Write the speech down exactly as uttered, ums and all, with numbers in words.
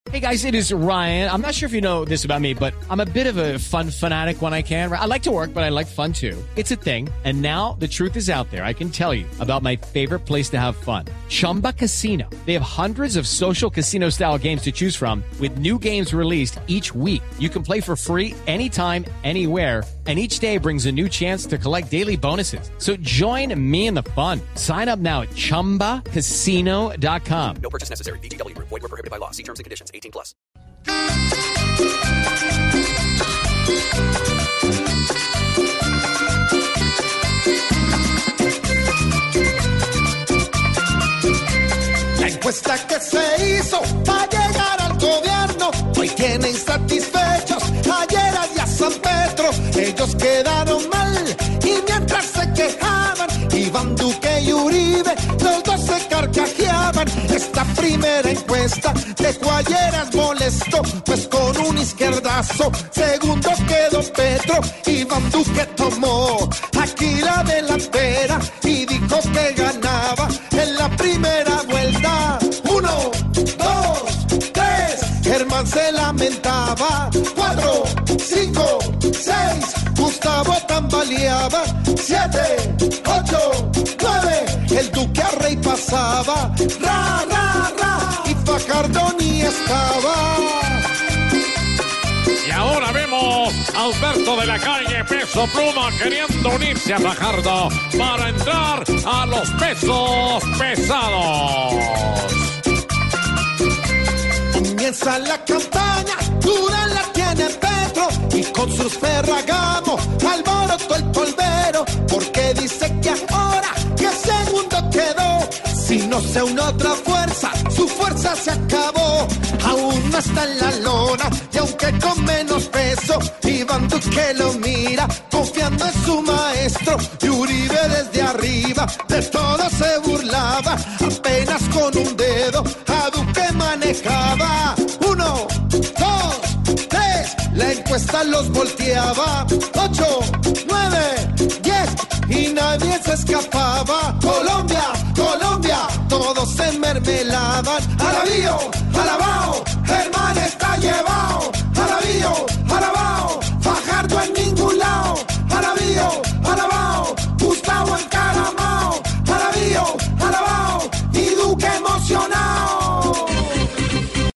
Hey guys, it is Ryan. I'm not sure if you know this about me, but I'm a bit of a fun fanatic when I can. I like to work, but I like fun too. It's a thing. And now the truth is out there. I can tell you about my favorite place to have fun. Chumba Casino. They have hundreds of social casino style games to choose from with new games released each week. You can play for free anytime, anywhere. And each day brings a new chance to collect daily bonuses. So join me in the fun. Sign up now at chumba casino dot com. No purchase necessary. V G W. Void where prohibited by law. See terms and conditions. eighteen plus. La encuesta que se hizo para llegar al gobierno hoy tiene insatisfechos a Lleras y a San Pedro. Ellos quedaron mal y mientras se quejaban Iván Duque y Uribe, los dos se carcajeaban. Esta primera encuesta dejó a Lleras molesto, pues con un izquierdazo segundo quedó Petro. Iván Duque tomó aquí la delantera y dijo que ganaba en la primera vuelta. Uno, dos, tres, Germán se lamentaba. Cuatro, cinco, seis, Gustavo tambaleaba. Siete, ocho, nueve, el Duque a Rey pasaba. Ra, ra, ra, y Fajardo ni estaba. Y ahora vemos a Alberto de la Calle, Peso Pluma, queriendo unirse a Fajardo para entrar a los pesos pesados. Comienza la campaña, dura la tiene Petro y con sus Ferragamo alborotó el polvero, porque dice que ahora que segundo quedó, si no se une otra fuerza, su fuerza se acabó. Aún no está en la lona y aunque con menos peso, Iván Duque lo mira confiando en su maestro. Y Uribe desde arriba de todo se burlaba, apenas con un dedo a Duque manejaba. Uno, dos, tres, la encuesta los volteaba. Ocho, nueve, diez y nadie se escapaba. Colombia, Colombia, todos se mermelaban. Alabío, alabao, Germán está llevado.